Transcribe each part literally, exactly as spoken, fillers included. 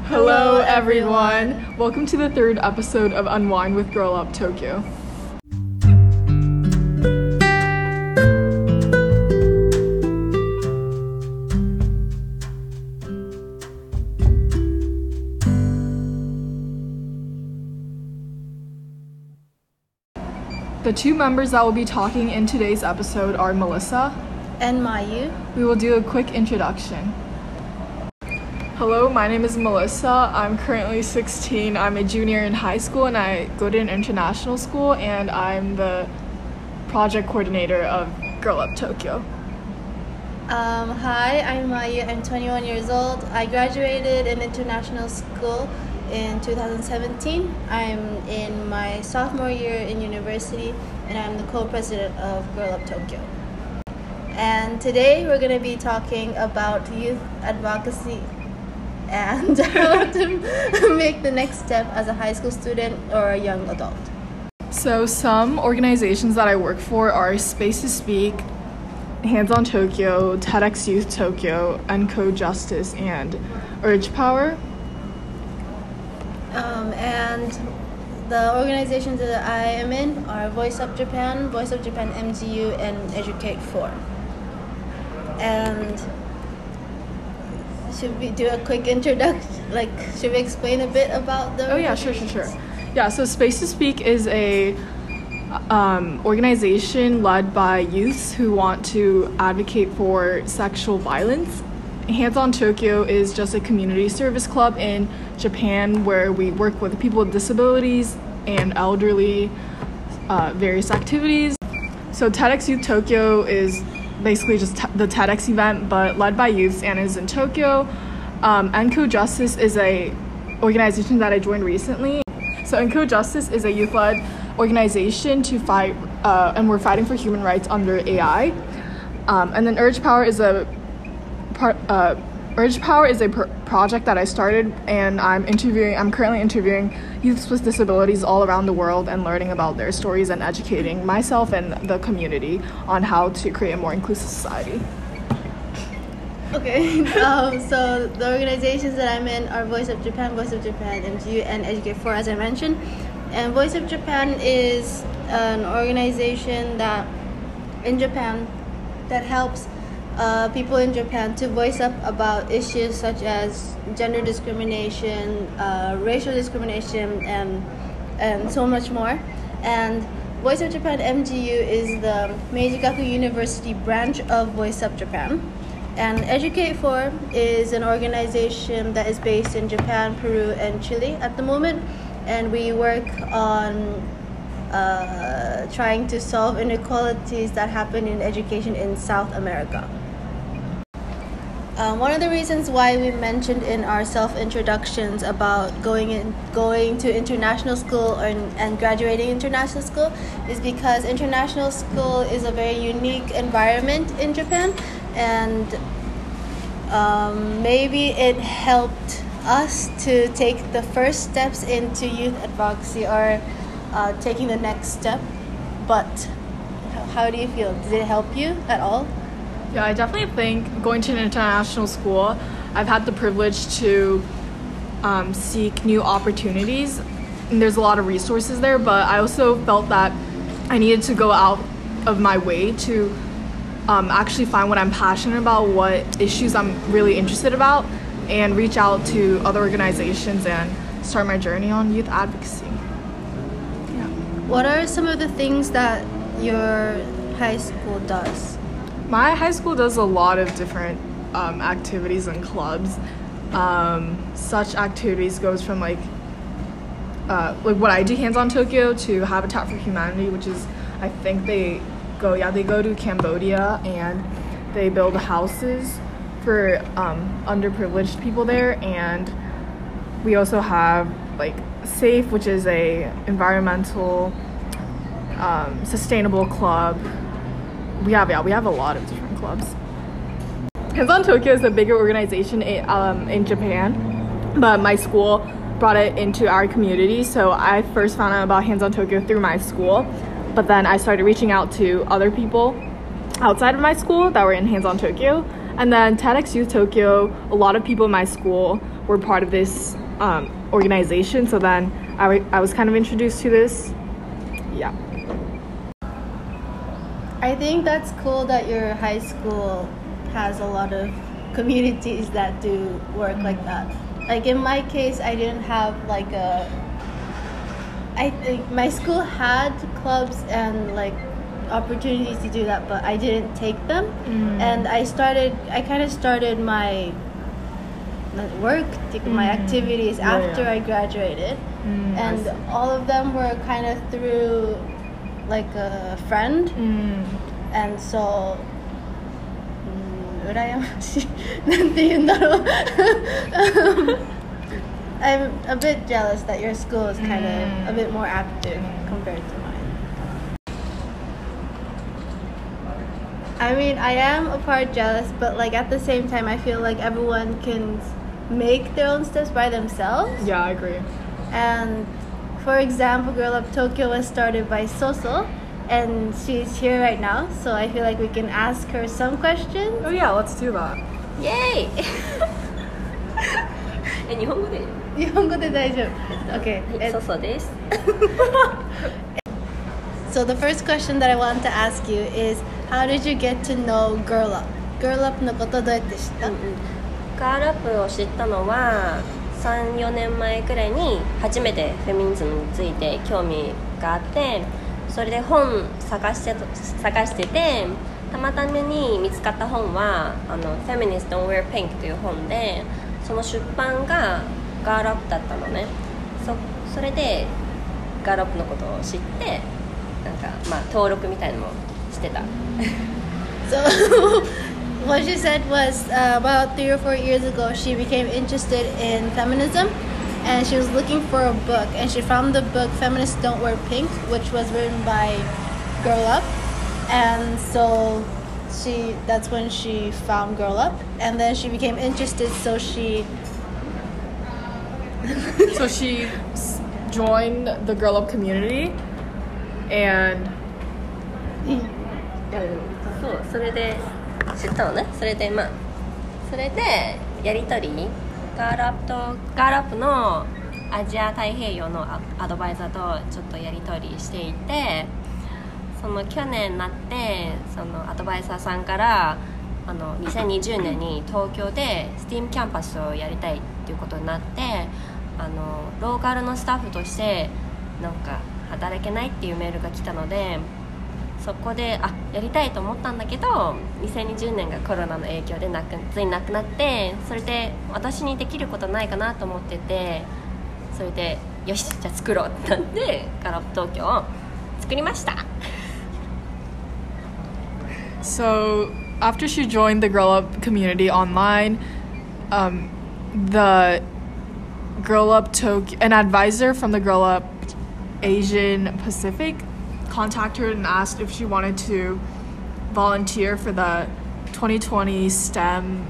Hello everyone! Welcome to the third episode of Unwind with Girl Up Tokyo. The two members that will be talking in today's episode are Melissa and Mayu. We will do a quick introduction. Hello, my name is Melissa. I'm currently sixteen. I'm a junior in high school and I go to an international school, and I'm the project coordinator of Girl Up Tokyo. Um, hi, I'm Mayu. I'm twenty-one years old. I graduated in international school in two thousand seventeen. I'm in my sophomore year in university and I'm the co-president of Girl Up Tokyo. And today we're going to be talking about youth advocacy and how to make the next step as a high school student or a young adult. So some organizations that I work for are Space to Speak, Hands on Tokyo, TEDx Youth Tokyo, Encode Justice, and Urge Power. Um, and the organizations that I am in are Voice Up Japan, Voice Up Japan M G U, and Educate four. And should we do a quick introduction? Like, should we explain a bit about the? Oh yeah, sure, sure, sure. Yeah, so Space to Speak is a um, organization led by youths who want to advocate for sexual violence. Hands on Tokyo is just a community service club in Japan where we work with people with disabilities and elderly, uh, various activities. So TEDx Youth Tokyo is basically just t- the TEDx event, but led by youths and is in Tokyo. Um, Encode Justice is a organization that I joined recently. So Encode Justice is a youth-led organization to fight, uh, and we're fighting for human rights under A I. Um, and then Urge Power is a Part, uh, Urge Power is a pr- project that I started, and I'm interviewing. I'm currently interviewing youths with disabilities all around the world and learning about their stories and educating myself and the community on how to create a more inclusive society. Okay, um, so the organizations that I'm in are Voice of Japan, Voice of Japan M G U, and Educate four, as I mentioned. And Voice of Japan is an organization that in Japan that helps Uh, people in Japan to voice up about issues such as gender discrimination, uh, racial discrimination, and and so much more. And Voice of Japan M G U is the Meiji Gakuin University branch of Voice Up Japan. And Educate four is an organization that is based in Japan, Peru, and Chile at the moment. And we work on uh, trying to solve inequalities that happen in education in South America. Um, one of the reasons why we mentioned in our self-introductions about going in, going to international school or, and graduating international school is because international school is a very unique environment in Japan, and um, maybe it helped us to take the first steps into youth advocacy or uh, taking the next step. But how do you feel? Did it help you at all? Yeah, I definitely think going to an international school, I've had the privilege to um, seek new opportunities, and there's a lot of resources there, but I also felt that I needed to go out of my way to um, actually find what I'm passionate about, what issues I'm really interested about, and reach out to other organizations and start my journey on youth advocacy. Yeah. What are some of the things that your high school does? My high school does a lot of different um, activities and clubs. Um, such activities goes from like uh, like what I do, Hands on Tokyo, to Habitat for Humanity, which is, I think they go yeah they go to Cambodia and they build houses for um, underprivileged people there. And we also have like SAFE, which is a environmental um, sustainable club. We have yeah we have a lot of different clubs. Hands on Tokyo is a bigger organization in, um, in Japan, but my school brought it into our community. So I first found out about Hands on Tokyo through my school, but then I started reaching out to other people outside of my school that were in Hands on Tokyo. And then TEDx Youth Tokyo, a lot of people in my school were part of this um, organization. So then I, I was kind of introduced to this. Yeah. I think that's cool that your high school has a lot of communities that do work like that. Like in my case, I didn't have like a. I think my school had clubs and like opportunities to do that, but I didn't take them. Mm. And I started. I kind of started my work, mm. my activities yeah, after yeah. I graduated, mm, and all of them were kind of through like a friend, mm. and so. 羨ましいなんて言うんだろう I'm a bit jealous that your school is kind of a bit more active compared to mine. I mean, I am a part jealous, but like at the same time I feel like everyone can make their own steps by themselves. Yeah, I agree. And for example, Girl Up Tokyo was started by Soso, and she's here right now, so I feel like we can ask her some questions. Oh yeah, let's do that. Yay! え、日本語で日本語で大丈夫。Okay. はい、そうそうです。 So the first question that I want to ask you is, how did you get to know Girl Up? Girl Up のことどうやって知った？うんうん、 ガールアップを知ったのはさん、よねんまえくらいに初めてフェミニズムについて興味があって、それで本探して探してて、たまたまに見つかった本はあの Feminists Don't Wear Pink という本で、その出版がガールアップだったのね。 そ, それでガールアップのことを知って、なんかまあ登録みたいなのもしてた。 So what she said was uh, about three or four years ago she became interested in feminism, and she was looking for a book, and she found the book Feminists Don't Wear Pink, which was written by Girl Up, and so she that's when she found Girl Up, and then she became interested, so she so she joined the Girl Up community, and そう、それで知ったのね。それでまあそれでやり取り、ガールアップとガールアップのアジア太平洋のアドバイザーとちょっとやり取りしていて、その去年になってそのアドバイザーさんからあのにせんにじゅうねんに東京で スティーム キャンパスをやりたいっていうことになって、あのローカルのスタッフとしてなんか働けないっていうメールが来たので、そこであやりたいと思ったんだけど、にせんにじゅうねんがコロナの影響でなくついなくなって、それで私にできることないかなと思ってて、それでよしじゃあ作ろうってなってガールアップ東京を作りました。 So after she joined the Girl Up community online, um, the Girl Up Tokyo, an advisor from the Girl Up Asian Pacific contacted her and asked if she wanted to volunteer for the twenty twenty STEM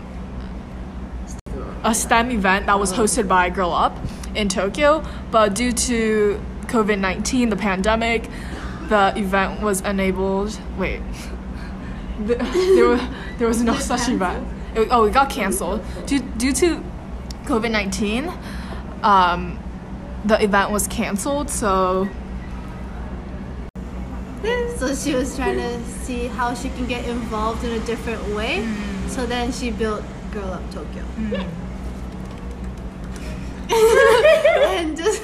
a STEM event that was hosted by Girl Up in Tokyo, but due to covid nineteen, the pandemic, the event was enabled. Wait, the, there was there was no such event. It, oh, it got canceled due due to covid nineteen. Um, the event was canceled, so. So she was trying to see how she can get involved in a different way. Mm. So then she built Girl Up Tokyo. Mm. And just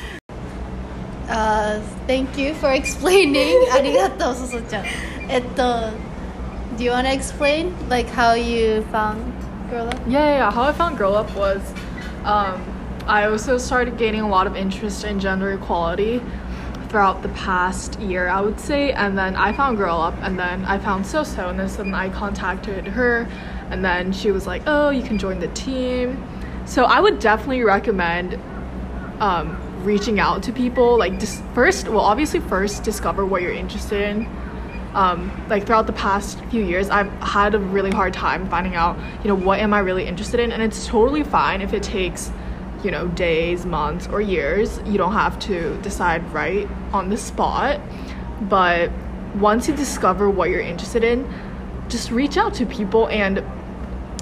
uh, thank you for explaining. ありがとう、そそちゃん。えっと、do you want to explain like how you found Girl Up? Yeah, yeah, yeah. How I found Girl Up was um, I also started gaining a lot of interest in gender equality throughout the past year, I would say, and then I found Girl Up, and then I found Soso, and then I contacted her, and then she was like, oh, you can join the team. So I would definitely recommend um, reaching out to people, like dis- first, well obviously first discover what you're interested in. Um, like throughout the past few years, I've had a really hard time finding out, you know, what am I really interested in, and it's totally fine if it takes you know, days, months, or years. You don't have to decide right on the spot. But once you discover what you're interested in, just reach out to people and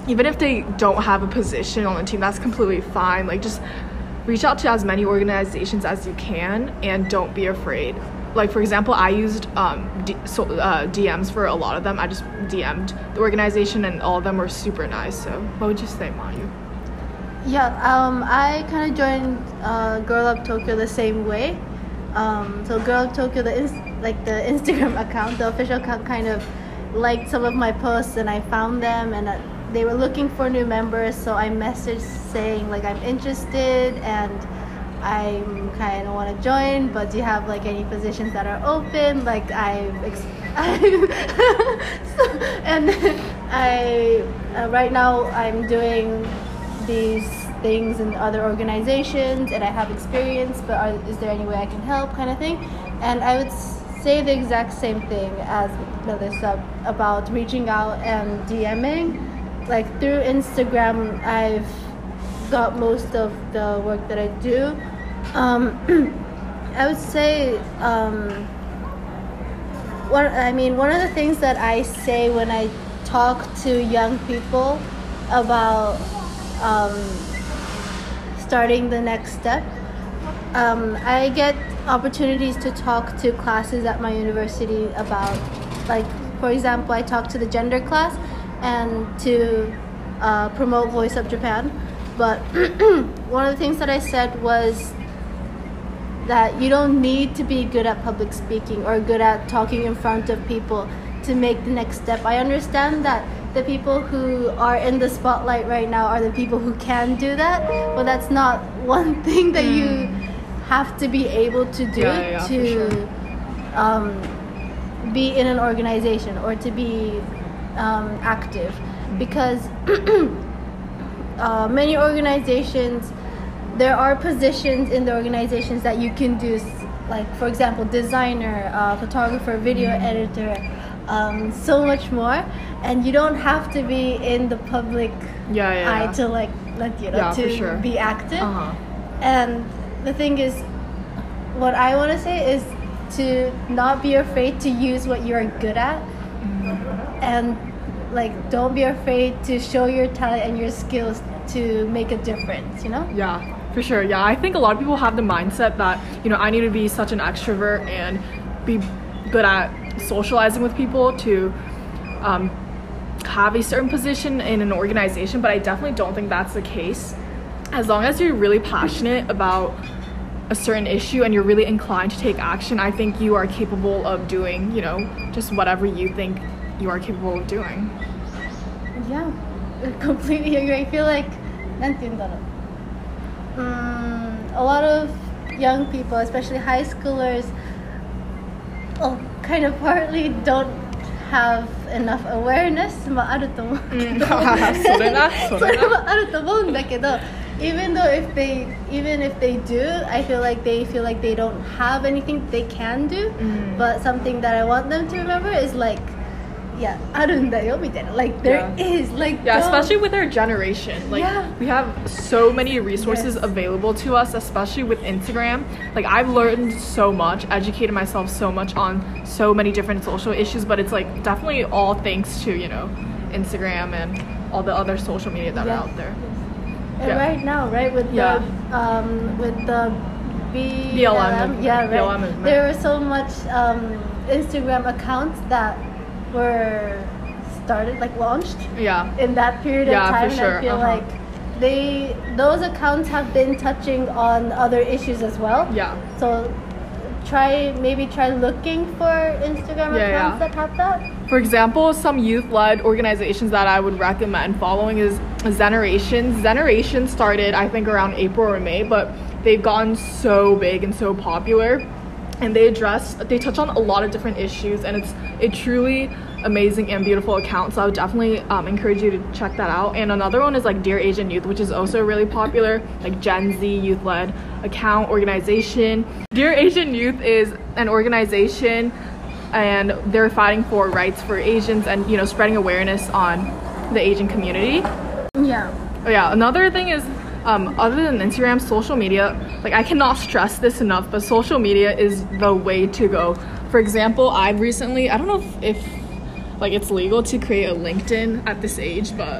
even if they don't have a position on the team, that's completely fine. Like, just reach out to as many organizations as you can and don't be afraid. Like, for example, I used um, D- so, uh, D Ms for a lot of them. I just D M'd the organization and all of them were super nice. So what would you say, Mayu? Yeah, um, I kind of joined uh, Girl Up Tokyo the same way. Um, so Girl Up Tokyo, the ins- like the Instagram account, the official account, kind of liked some of my posts, and I found them, and uh, they were looking for new members. So I messaged saying like I'm interested and I kind of want to join, but do you have like any positions that are open? Like I've, ex- I've so, and I uh, right now I'm doing these things in other organizations and I have experience, but are, is there any way I can help, kind of thing? And I would say the exact same thing as Melissa about reaching out and DMing. Like through Instagram, I've got most of the work that I do. Um, I would say, um, one, I mean, one of the things that I say when I talk to young people about um, starting the next step, um, I get opportunities to talk to classes at my university about, like, for example, I talk to the gender class and to uh, promote Voice Up Japan. But one of the things that I said was that you don't need to be good at public speaking or good at talking in front of people to make the next step. I understand that the people who are in the spotlight right now are the people who can do that, but that's not one thing that mm. you have to be able to do yeah, yeah, to sure. um, be in an organization or to be um, active. Because uh, many organizations, there are positions in the organizations that you can do, like, for example, designer, uh, photographer, video editor, um, so much more. And you don't have to be in the public yeah, yeah, eye yeah. to, like, like you know, yeah, to sure. be active. Uh-huh. And the thing is, what I want to say is to not be afraid to use what you're good at. Mm-hmm. And, like, don't be afraid to show your talent and your skills to make a difference, you know? Yeah. For sure, yeah. I think a lot of people have the mindset that, you know, I need to be such an extrovert and be good at socializing with people to um, have a certain position in an organization, but I definitely don't think that's the case. As long as you're really passionate about a certain issue and you're really inclined to take action, I think you are capable of doing, you know, just whatever you think you are capable of doing. Yeah, I completely agree. I feel like, Um, a lot of young people, especially high schoolers, oh, kind of partly don't have enough awareness もあると思うけど、それもあると思うんだけど、even though if they even if they do, I feel like they feel like they don't have anything they can do. Mm. But something that I want them to remember is like, yeah, あるんだよみたいな. Like there yeah. is like yeah, especially with our generation. Like yeah. we have so many resources yes. available to us, especially with Instagram. Like I've learned so much, educated myself so much on so many different social issues, but it's like definitely all thanks to, you know, Instagram and all the other social media that yeah. are out there. And yeah. right now, right, with yeah. the um with the B L M, yeah, right. B L M there were so much um Instagram accounts that were started, like launched yeah in that period yeah, of time. For sure. I feel uh-huh. like they those accounts have been touching on other issues as well. Yeah. So try maybe try looking for Instagram yeah, accounts yeah. that have that. For example, some youth-led organizations that I would recommend following is Zeneration. Zeneration started, I think, around April or May, but they've gotten so big and so popular. And they address, they touch on a lot of different issues, and it's a truly amazing and beautiful account. So I would definitely um, encourage you to check that out. And another one is like Dear Asian Youth, which is also really popular, like Gen Z youth-led account organization. Dear Asian Youth is an organization, and they're fighting for rights for Asians and, you know, spreading awareness on the Asian community. Yeah. Oh yeah. Another thing is, Um, other than Instagram, social media, like I cannot stress this enough, but social media is the way to go. For example, I've recently, I don't know if, if like it's legal to create a LinkedIn at this age, but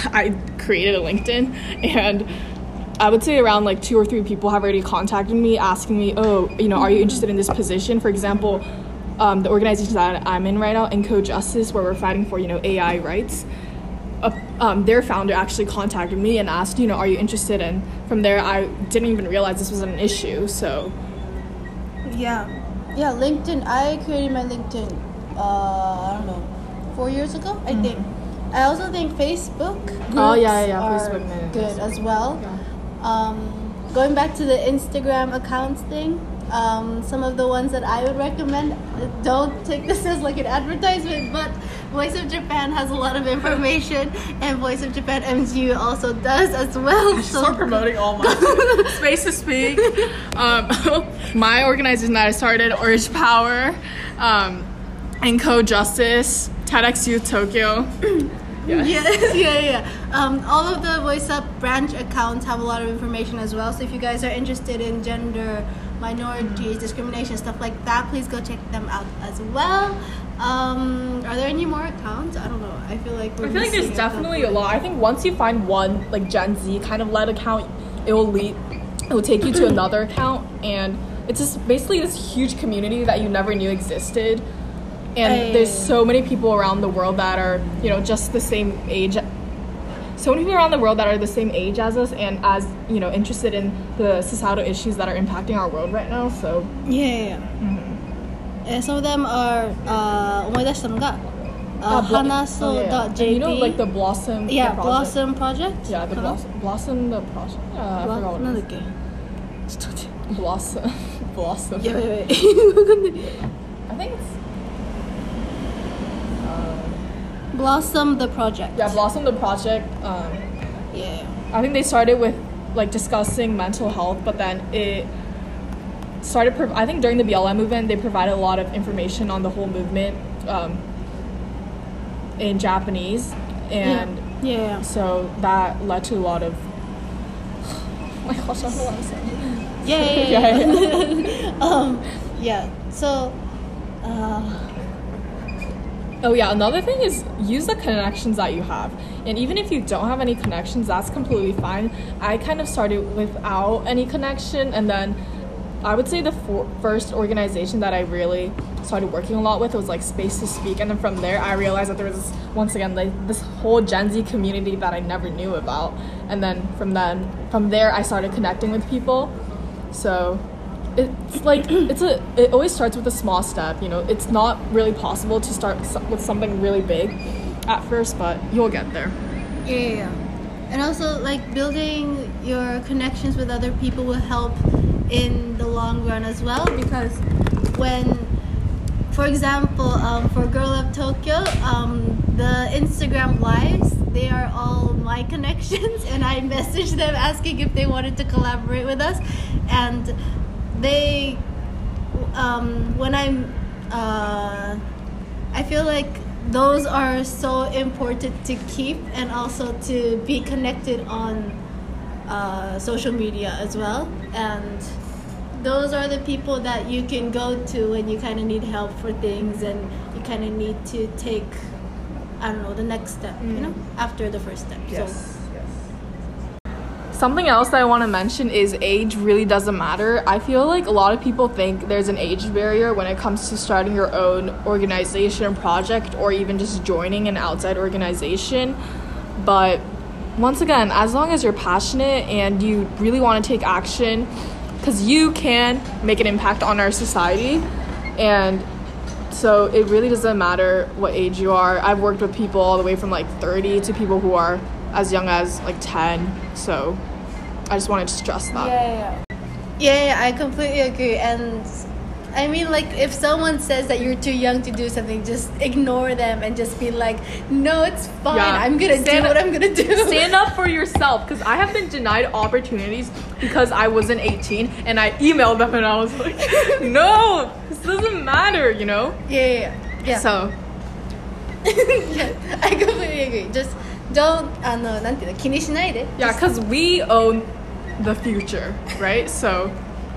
I created a LinkedIn, and I would say around like two or three people have already contacted me asking me, oh, you know, are you interested in this position? For example, um, the organization that I'm in right now, Enco Justice, where we're fighting for, you know, A I rights. Uh, um, their founder actually contacted me and asked, you know, are you interested? And from there, I didn't even realize this was an issue. So, yeah, yeah. LinkedIn. I created my LinkedIn. Uh, I don't know, four years ago, I mm-hmm. think. I also think Facebook groups oh, yeah, yeah, yeah. are Facebook, good as well. Yeah. Um, going back to the Instagram accounts thing, um, some of the ones that I would recommend, don't take this as like an advertisement, but Voice of Japan has a lot of information, and Voice of Japan M G U also does as well. I should so start promoting all my Space to Speak. Um, my organization that I started, Orange Power, um, Enco Justice, TEDx Youth Tokyo. Yes. yes, yeah, yeah. Um, all of the Voice Up branch accounts have a lot of information as well. So if you guys are interested in gender, minorities, discrimination, stuff like that, please go check them out as well. Um, are there any more accounts? I don't know. I feel like we're I feel like there's definitely a lot. I think once you find one like Gen Z kind of led account, it will lead, it will take you to another account, and it's just basically this huge community that you never knew existed. And hey. There's so many people around the world that are, you know, just the same age. So many people around the world that are the same age as us and as, you know, interested in the societal issues that are impacting our world right now. So yeah, yeah, yeah. Mm-hmm. And some of them are uh, 思い出したのが uh, hanaso dot j p. You know, like the Blossom. Yeah, the project. Blossom project. Yeah, the Blossom. Blossom the project. Uh, I Blo- forgot what it it is. Blossom. Blossom. Yeah, wait, wait. I think it's. Blossom the project. Yeah, Blossom the project. Um, yeah. I think they started with like discussing mental health, but then it started. Prov- I think during the B L M movement, they provided a lot of information on the whole movement um, in Japanese, and yeah. Yeah. so that led to a lot of. Oh my gosh, I don't know what I'm saying. Yeah, yeah, yeah. yeah, yeah. um, yeah. So. Uh, Oh yeah, another thing is use the connections that you have. And even if you don't have any connections, that's completely fine. I kind of started without any connection, and then I would say the for- first organization that I really started working a lot with was like Space to Speak, and then from there I realized that there was once again like this whole Gen Z community that I never knew about, and then from then from there I started connecting with people. So it's like it's a it always starts with a small step, you know. It's not really possible to start with something really big at first, but you'll get there. Yeah, yeah, yeah. And also like building your connections with other people will help in the long run as well, because when, for example, um, for Girl Up Tokyo, um, the Instagram lives, they are all my connections, and I messaged them asking if they wanted to collaborate with us, and they, um, when I'm, uh, I feel like those are so important to keep, and also to be connected on uh, social media as well. And those are the people that you can go to when you kind of need help for things, and you kind of need to take, I don't know, the next step, mm. you know, after the first step. Yes. So. Something else that I want to mention is age really doesn't matter. I feel like a lot of people think there's an age barrier when it comes to starting your own organization, project, or even just joining an outside organization. But once again, as long as you're passionate and you really want to take action, because you can make an impact on our society, and so it really doesn't matter what age you are. I've worked with people all the way from like thirty to people who are as young as like ten, so I just wanted to stress that. Yeah, yeah, yeah, yeah, I completely agree. And I mean, like, if someone says that you're too young to do something, just ignore them and just be like, no, it's fine, yeah. I'm gonna stand do what I'm gonna do. Stand up for yourself, because I have been denied opportunities because I wasn't eighteen, and I emailed them and I was like, no, this doesn't matter, you know? Yeah, yeah, yeah. So yeah, I completely agree. Just don't, あの、なんていうの、気にしないで. Yeah, because we own the future, right? So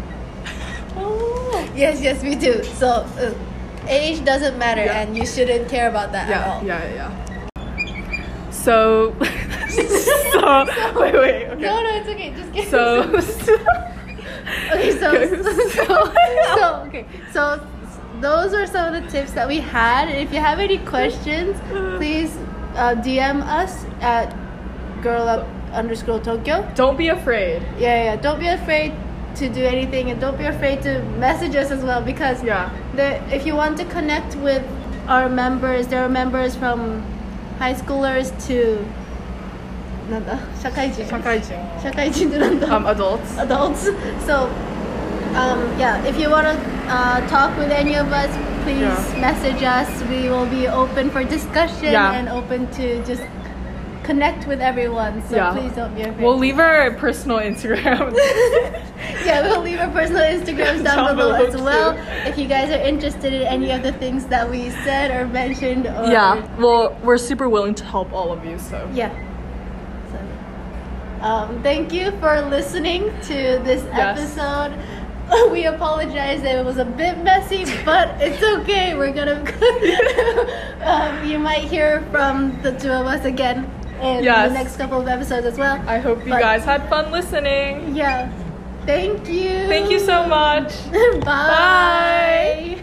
yes, yes, we do. So uh, age doesn't matter, yeah. and you shouldn't care about that yeah, at all. Yeah, yeah, yeah. So so wait, wait. Okay. No, no, it's okay. Just get So. Okay, so, so, so, okay, so those are some of the tips that we had. If you have any questions, please uh, D M us at girlup underscore Tokyo. Don't be afraid. Yeah, yeah. Don't be afraid to do anything, and don't be afraid to message us as well, because Yeah. the if you want to connect with our members, there are members from high schoolers to なんだ社会人社会人。 社会人ってなんだ Um, adults. adults. So, um, yeah, if you want to uh, talk with any of us, please Yeah. message us. We will be open for discussion Yeah. and open to just connect with everyone. So Yeah. please don't be afraid. We'll leave our personal Instagram. Yeah, we'll leave our personal Instagrams down, Down below, below as well. too. If you guys are interested in any of the things that we said or mentioned. Or, Yeah. Well, we're super willing to help all of you. So. Yeah. So, um, thank you for listening to this Yes. episode. We apologize that it was a bit messy, but it's okay. We're gonna. um, you might hear from the two of us again in Yes. the next couple of episodes as well. I hope you But- guys had fun listening. Yeah. Thank you. Thank you so much. Bye. Bye.